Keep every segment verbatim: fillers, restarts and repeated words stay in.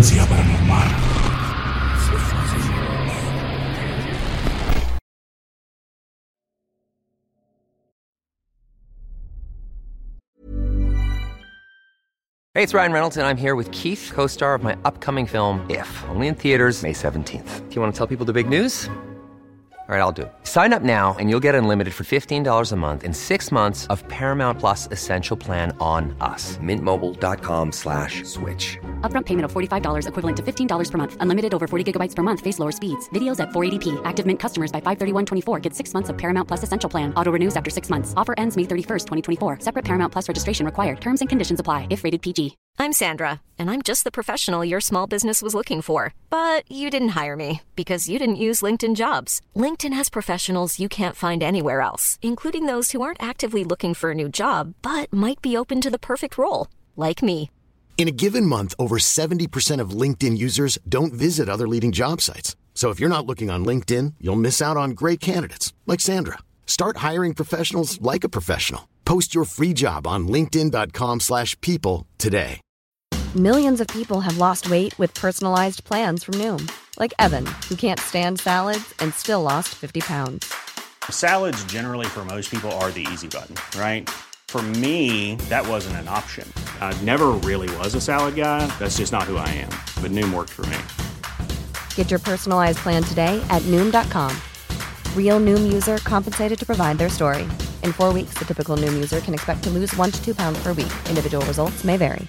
Frecuencia Paranormal. Hey, it's Ryan Reynolds, and I'm here with Keith, co-star of my upcoming film, If, only in theaters May seventeenth. Do you want to tell people the big news? All right, I'll do it. Sign up now and you'll get unlimited for fifteen dollars a month and six months of Paramount Plus Essential Plan on us. Mint Mobile dot com slash switch. Upfront payment of forty-five dollars equivalent to fifteen dollars per month. Unlimited over forty gigabytes per month. Face lower speeds. Videos at four eighty p. Active Mint customers by five thirty-one twenty-four get six months of Paramount Plus Essential Plan. Auto renews after six months. Offer ends May thirty-first, twenty twenty-four. Separate Paramount Plus registration required. Terms and conditions apply if rated P G. I'm Sandra, and I'm just the professional your small business was looking for. But you didn't hire me because you didn't use LinkedIn Jobs. LinkedIn has professionals you can't find anywhere else, including those who aren't actively looking for a new job, but might be open to the perfect role, like me. In a given month, over seventy percent of LinkedIn users don't visit other leading job sites. So if you're not looking on LinkedIn, you'll miss out on great candidates like Sandra. Start hiring professionals like a professional. Post your free job on linkedin dot com slash people today. Millions of people have lost weight with personalized plans from Noom. Like Evan, who can't stand salads and still lost fifty pounds. Salads generally for most people are the easy button, right? For me, that wasn't an option. I never really was a salad guy. That's just not who I am. But Noom worked for me. Get your personalized plan today at Noom dot com. Real Noom user compensated to provide their story. In four weeks, the typical Noom user can expect to lose one to two pounds per week. Individual results may vary.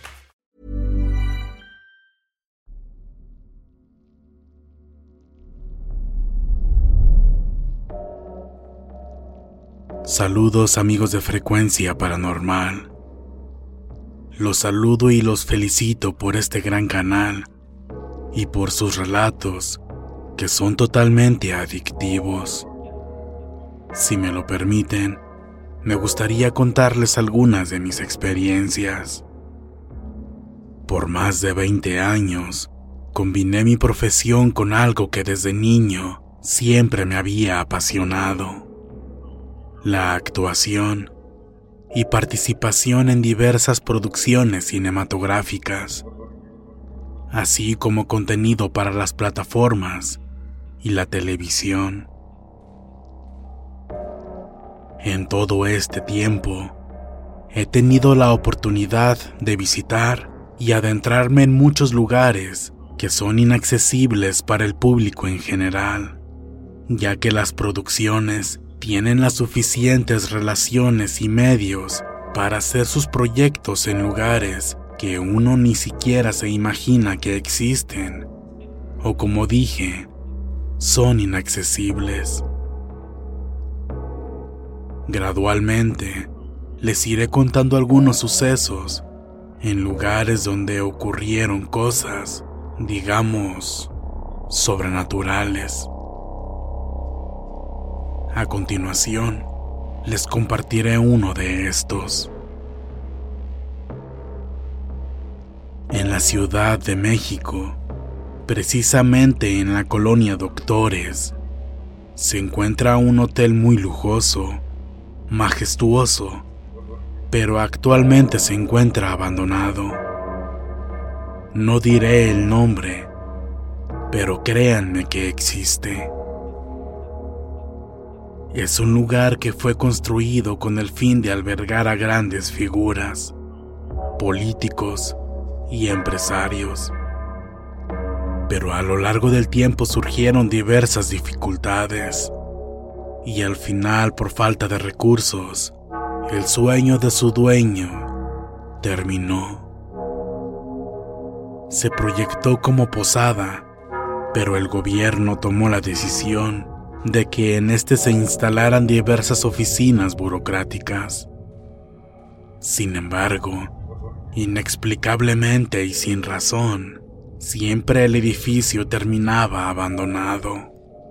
Saludos amigos de Frecuencia Paranormal. Los saludo y los felicito por este gran canal y por sus relatos que son totalmente adictivos. Si me lo permiten, me gustaría contarles algunas de mis experiencias. Por más de veinte años, combiné mi profesión con algo que desde niño siempre me había apasionado: la actuación y participación en diversas producciones cinematográficas, así como contenido para las plataformas y la televisión. En todo este tiempo, he tenido la oportunidad de visitar y adentrarme en muchos lugares que son inaccesibles para el público en general, ya que las producciones tienen las suficientes relaciones y medios para hacer sus proyectos en lugares que uno ni siquiera se imagina que existen, o como dije, son inaccesibles. Gradualmente, les iré contando algunos sucesos en lugares donde ocurrieron cosas, digamos, sobrenaturales. A continuación, les compartiré uno de estos. En la Ciudad de México, precisamente en la colonia Doctores, se encuentra un hotel muy lujoso, majestuoso, pero actualmente se encuentra abandonado. No diré el nombre, pero créanme que existe. Es un lugar que fue construido con el fin de albergar a grandes figuras, políticos y empresarios. Pero a lo largo del tiempo surgieron diversas dificultades, y al final, por falta de recursos, el sueño de su dueño terminó. Se proyectó como posada, pero el gobierno tomó la decisión de que en este se instalaran diversas oficinas burocráticas. Sin embargo, inexplicablemente y sin razón, siempre el edificio terminaba abandonado.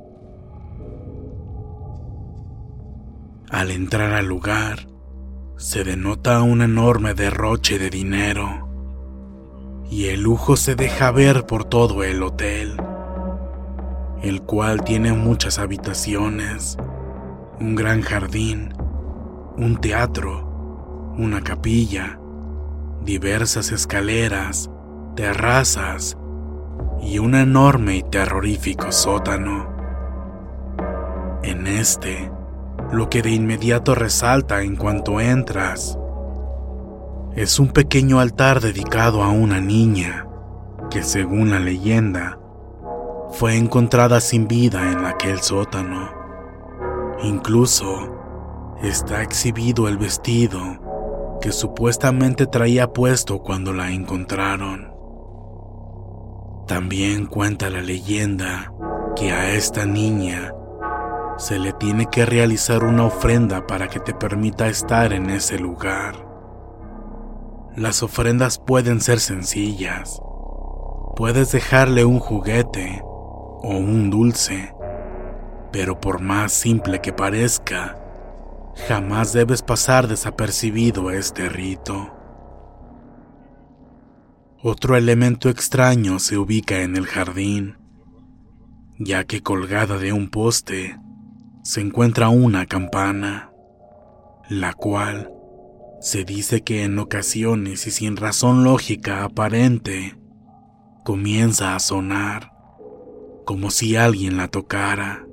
Al entrar al lugar, se denota un enorme derroche de dinero, y el lujo se deja ver por todo el hotel, el cual tiene muchas habitaciones, un gran jardín, un teatro, una capilla, diversas escaleras, terrazas y un enorme y terrorífico sótano. En este, lo que de inmediato resalta en cuanto entras es un pequeño altar dedicado a una niña que, según la leyenda, fue encontrada sin vida en aquel sótano. Incluso está exhibido el vestido que supuestamente traía puesto cuando la encontraron. También cuenta la leyenda que a esta niña se le tiene que realizar una ofrenda para que te permita estar en ese lugar. Las ofrendas pueden ser sencillas. Puedes dejarle un juguete o un dulce, pero por más simple que parezca, jamás debes pasar desapercibido este rito. Otro elemento extraño se ubica en el jardín, ya que colgada de un poste se encuentra una campana, la cual se dice que en ocasiones y sin razón lógica aparente comienza a sonar como si alguien la tocara.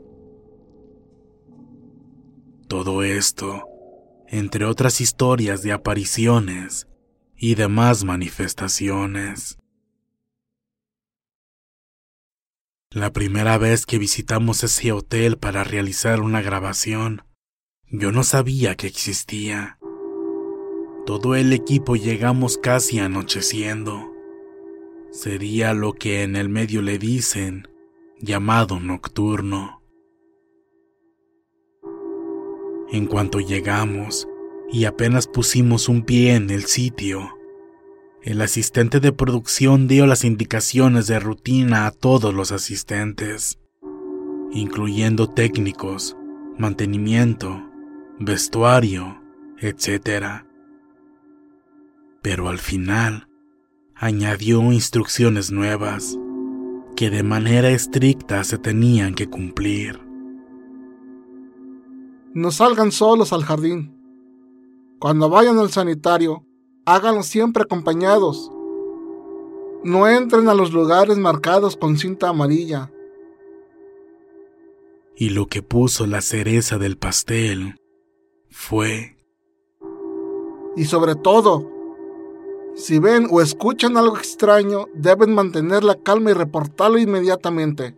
Todo esto, entre otras historias de apariciones y demás manifestaciones. La primera vez que visitamos ese hotel para realizar una grabación, yo no sabía que existía. Todo el equipo llegamos casi anocheciendo. Sería lo que en el medio le dicen llamado nocturno. En cuanto llegamos y apenas pusimos un pie en el sitio, el asistente de producción dio las indicaciones de rutina a todos los asistentes, incluyendo técnicos, mantenimiento, vestuario, etcétera. Pero al final, añadió instrucciones nuevas que de manera estricta se tenían que cumplir. No salgan solos al jardín. Cuando vayan al sanitario, háganlo siempre acompañados. No entren a los lugares marcados con cinta amarilla. Y lo que puso la cereza del pastel fue... Y sobre todo, si ven o escuchan algo extraño, deben mantener la calma y reportarlo inmediatamente.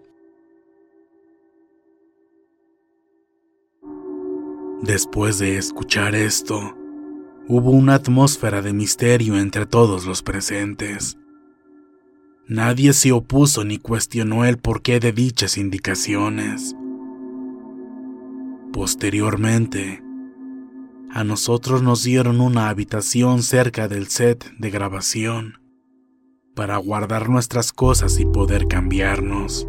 Después de escuchar esto, hubo una atmósfera de misterio entre todos los presentes. Nadie se opuso ni cuestionó el porqué de dichas indicaciones. Posteriormente, a nosotros nos dieron una habitación cerca del set de grabación para guardar nuestras cosas y poder cambiarnos.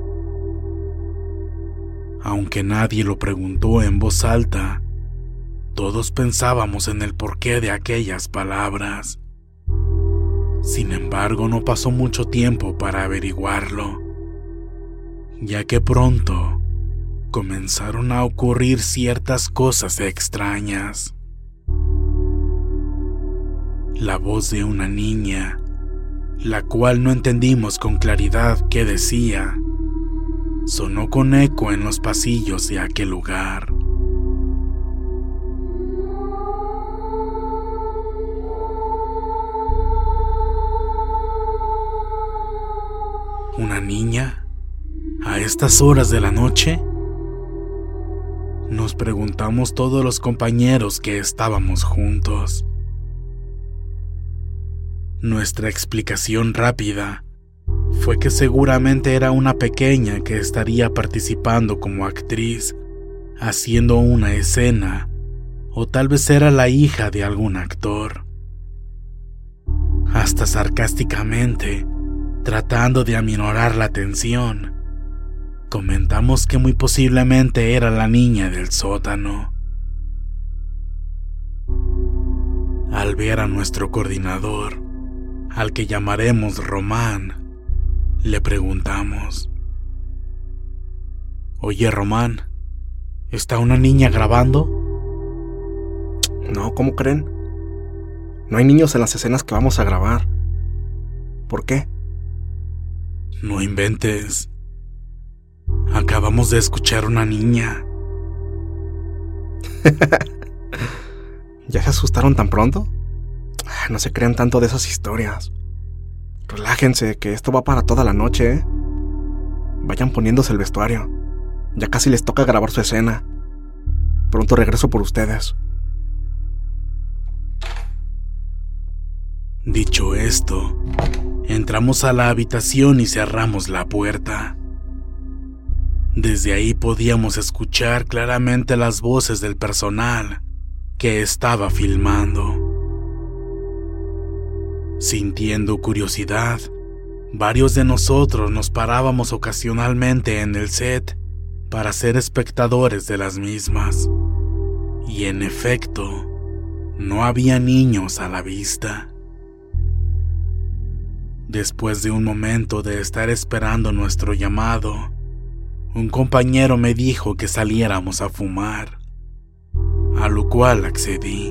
Aunque nadie lo preguntó en voz alta, todos pensábamos en el porqué de aquellas palabras. Sin embargo, no pasó mucho tiempo para averiguarlo, ya que pronto comenzaron a ocurrir ciertas cosas extrañas. La voz de una niña, la cual no entendimos con claridad qué decía, sonó con eco en los pasillos de aquel lugar. ¿Una niña? ¿A estas horas de la noche? Nos preguntamos todos los compañeros que estábamos juntos. Nuestra explicación rápida fue que seguramente era una pequeña que estaría participando como actriz, haciendo una escena, o tal vez era la hija de algún actor. Hasta sarcásticamente, tratando de aminorar la tensión, comentamos que muy posiblemente era la niña del sótano. Al ver a nuestro coordinador, al que llamaremos Román, le preguntamos: Oye, Román, ¿está una niña grabando? No, ¿cómo creen? No hay niños en las escenas que vamos a grabar. ¿Por qué? No inventes. Acabamos de escuchar una niña. ¿Ya se asustaron tan pronto? No se crean tanto de esas historias. Relájense, que esto va para toda la noche, ¿eh? Vayan poniéndose el vestuario. Ya casi les toca grabar su escena. Pronto regreso por ustedes. Dicho esto, entramos a la habitación y cerramos la puerta. Desde ahí podíamos escuchar claramente las voces del personal que estaba filmando. Sintiendo curiosidad, varios de nosotros nos parábamos ocasionalmente en el set para ser espectadores de las mismas. Y en efecto, no había niños a la vista. Después de un momento de estar esperando nuestro llamado, un compañero me dijo que saliéramos a fumar, a lo cual accedí.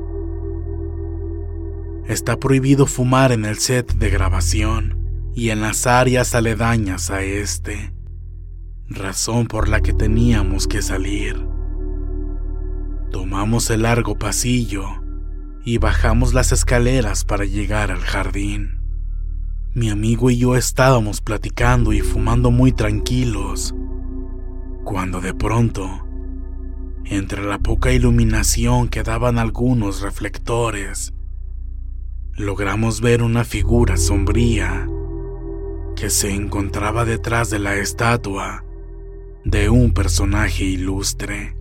Está prohibido fumar en el set de grabación y en las áreas aledañas a este, razón por la que teníamos que salir. Tomamos el largo pasillo y bajamos las escaleras para llegar al jardín. Mi amigo y yo estábamos platicando y fumando muy tranquilos, cuando de pronto, entre la poca iluminación que daban algunos reflectores, logramos ver una figura sombría que se encontraba detrás de la estatua de un personaje ilustre.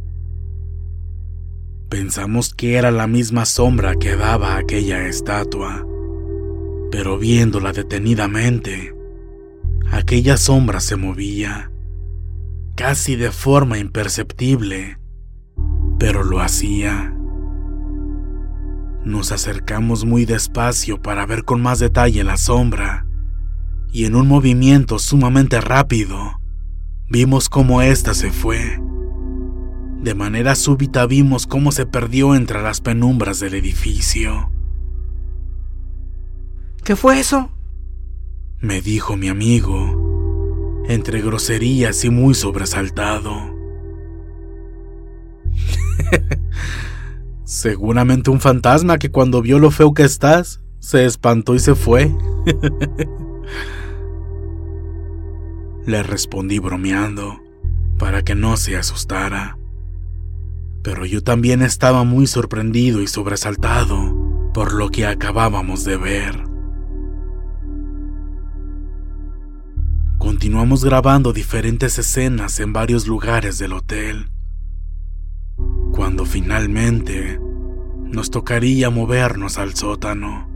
Pensamos que era la misma sombra que daba aquella estatua, pero viéndola detenidamente, aquella sombra se movía, casi de forma imperceptible, pero lo hacía. Nos acercamos muy despacio para ver con más detalle la sombra, y en un movimiento sumamente rápido, vimos cómo ésta se fue. De manera súbita vimos cómo se perdió entre las penumbras del edificio. ¿Qué fue eso?, me dijo mi amigo, entre groserías y muy sobresaltado. Seguramente un fantasma que cuando vio lo feo que estás, se espantó y se fue. Le respondí bromeando, para que no se asustara. Pero yo también estaba muy sorprendido y sobresaltado por lo que acabábamos de ver. Continuamos grabando diferentes escenas en varios lugares del hotel, cuando finalmente nos tocaría movernos al sótano.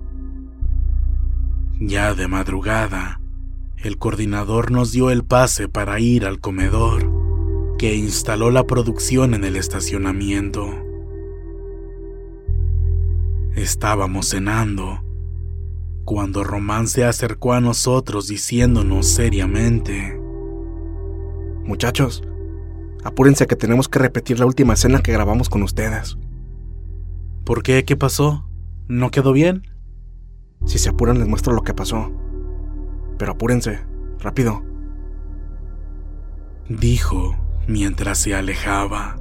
Ya de madrugada, el coordinador nos dio el pase para ir al comedor que instaló la producción en el estacionamiento. Estábamos cenando cuando Román se acercó a nosotros diciéndonos seriamente: muchachos, apúrense que tenemos que repetir la última escena que grabamos con ustedes. ¿Por qué? ¿Qué pasó? ¿No quedó bien? Si se apuran les muestro lo que pasó. Pero apúrense, rápido, dijo mientras se alejaba.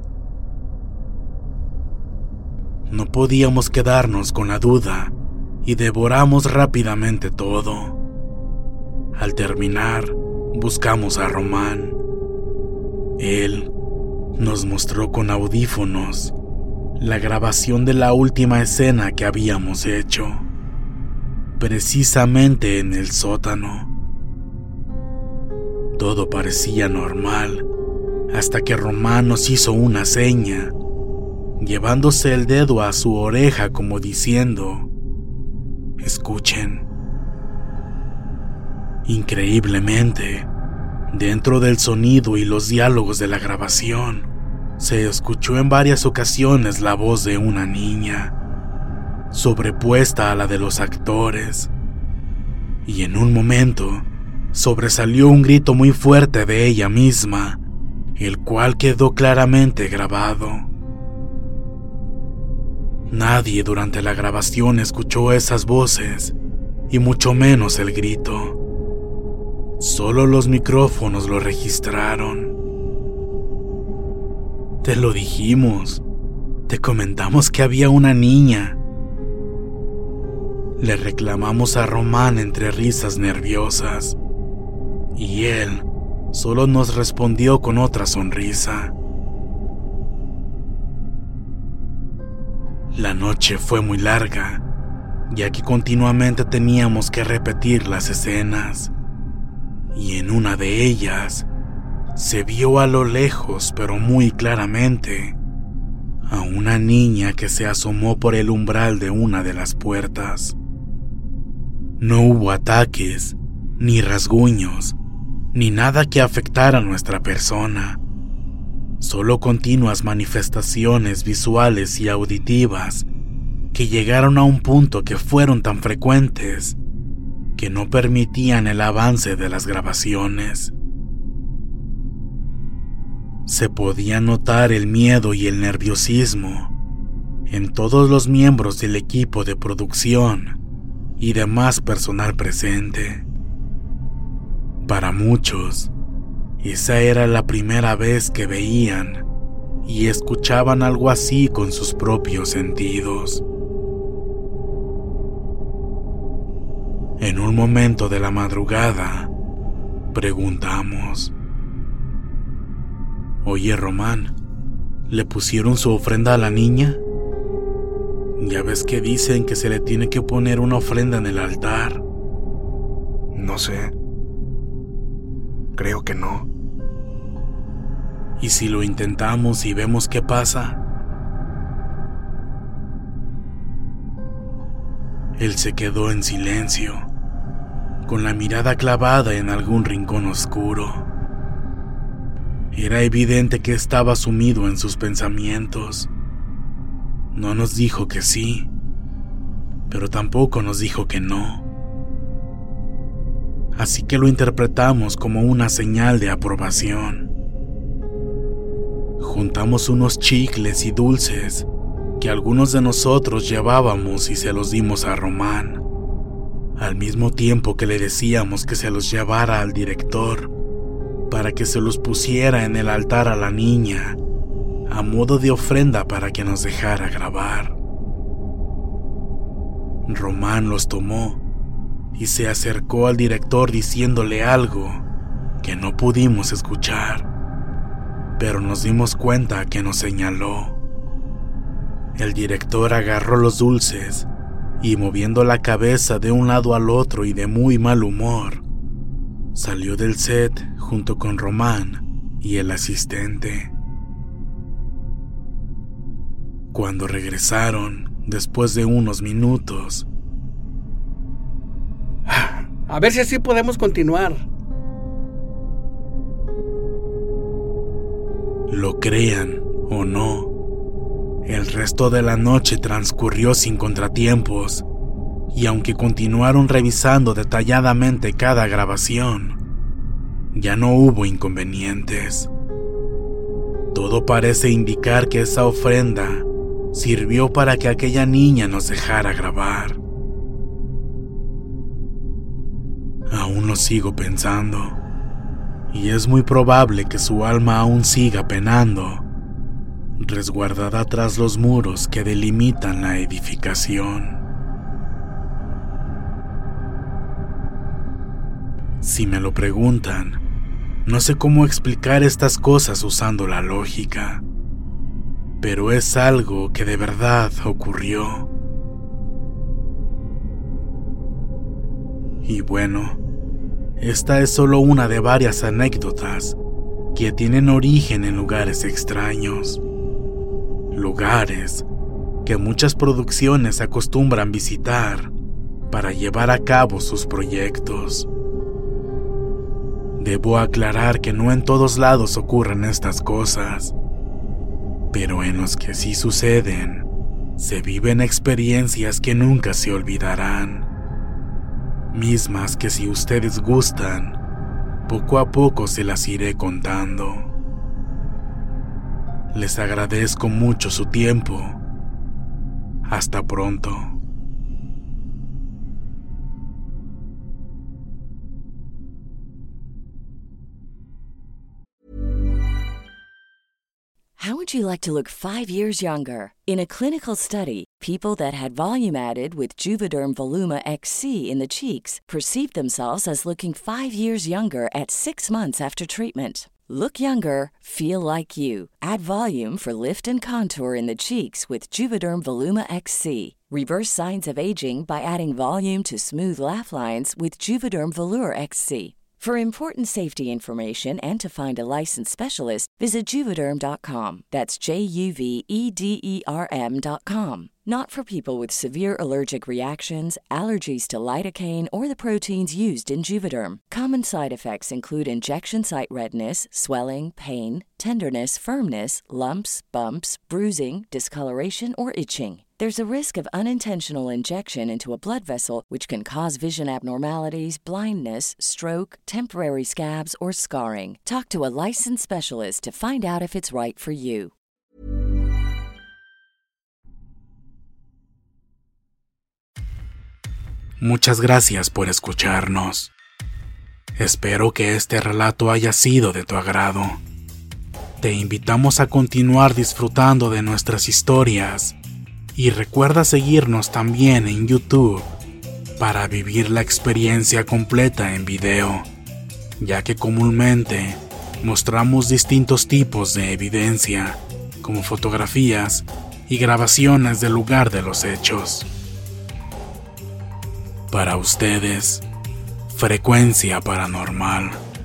No podíamos quedarnos con la duda y devoramos rápidamente todo. Al terminar, buscamos a Román. Él nos mostró con audífonos la grabación de la última escena que habíamos hecho, precisamente en el sótano. Todo parecía normal, hasta que Román nos hizo una seña, llevándose el dedo a su oreja como diciendo: escuchen. Increíblemente, dentro del sonido y los diálogos de la grabación, se escuchó en varias ocasiones la voz de una niña, sobrepuesta a la de los actores, y en un momento sobresalió un grito muy fuerte de ella misma, el cual quedó claramente grabado. Nadie durante la grabación escuchó esas voces, y mucho menos el grito. Solo los micrófonos lo registraron. Te lo dijimos. Te comentamos que había una niña. Le reclamamos a Román entre risas nerviosas. Y él solo nos respondió con otra sonrisa. La noche fue muy larga, ya que continuamente teníamos que repetir las escenas. Y en una de ellas se vio a lo lejos, pero muy claramente, a una niña que se asomó por el umbral de una de las puertas. No hubo ataques, ni rasguños, ni nada que afectara a nuestra persona. Solo continuas manifestaciones visuales y auditivas que llegaron a un punto que fueron tan frecuentes que no permitían el avance de las grabaciones. Se podía notar el miedo y el nerviosismo en todos los miembros del equipo de producción y demás personal presente. Para muchos, esa era la primera vez que veían y escuchaban algo así con sus propios sentidos. En un momento de la madrugada, preguntamos: Oye, Román, ¿le pusieron su ofrenda a la niña? Ya ves que dicen que se le tiene que poner una ofrenda en el altar. No sé. Creo que no. ¿Y si lo intentamos y vemos qué pasa? Él se quedó en silencio, con la mirada clavada en algún rincón oscuro. Era evidente que estaba sumido en sus pensamientos. No nos dijo que sí, pero tampoco nos dijo que no. Así que lo interpretamos como una señal de aprobación. Juntamos unos chicles y dulces que algunos de nosotros llevábamos y se los dimos a Román, al mismo tiempo que le decíamos que se los llevara al director para que se los pusiera en el altar a la niña, a modo de ofrenda para que nos dejara grabar. Román los tomó y se acercó al director diciéndole algo que no pudimos escuchar, pero nos dimos cuenta que nos señaló. El director agarró los dulces y, moviendo la cabeza de un lado al otro y de muy mal humor, salió del set junto con Román y el asistente. Cuando regresaron, después de unos minutos: A ver si así podemos continuar. Lo crean o no, el resto de la noche transcurrió sin contratiempos, y aunque continuaron revisando detalladamente cada grabación, ya no hubo inconvenientes. Todo parece indicar que esa ofrenda sirvió para que aquella niña nos dejara grabar. Aún lo sigo pensando, y es muy probable que su alma aún siga penando, resguardada tras los muros que delimitan la edificación. Si me lo preguntan, no sé cómo explicar estas cosas usando la lógica, pero es algo que de verdad ocurrió. Y bueno, esta es solo una de varias anécdotas que tienen origen en lugares extraños. Lugares que muchas producciones acostumbran visitar para llevar a cabo sus proyectos. Debo aclarar que no en todos lados ocurren estas cosas, pero en los que sí suceden, se viven experiencias que nunca se olvidarán. Mismas que, si ustedes gustan, poco a poco se las iré contando. Les agradezco mucho su tiempo. Hasta pronto. How would you like to look five years younger? In a clinical study, people that had volume added with Juvederm Voluma X C in the cheeks perceived themselves as looking five years younger at six months after treatment. Look younger, feel like you. Add volume for lift and contour in the cheeks with Juvederm Voluma X C. Reverse signs of aging by adding volume to smooth laugh lines with Juvederm Volure X C. For important safety information and to find a licensed specialist, visit Juvederm dot com. That's J U V E D E R M dot com. Not for people with severe allergic reactions, allergies to lidocaine, or the proteins used in Juvederm. Common side effects include injection site redness, swelling, pain, tenderness, firmness, lumps, bumps, bruising, discoloration, or itching. There's a risk of unintentional injection into a blood vessel, which can cause vision abnormalities, blindness, stroke, temporary scabs, or scarring. Talk to a licensed specialist to find out if it's right for you. Muchas gracias por escucharnos. Espero que este relato haya sido de tu agrado. Te invitamos a continuar disfrutando de nuestras historias. Y recuerda seguirnos también en YouTube para vivir la experiencia completa en video, ya que comúnmente mostramos distintos tipos de evidencia, como fotografías y grabaciones del lugar de los hechos. Para ustedes, Frecuencia Paranormal.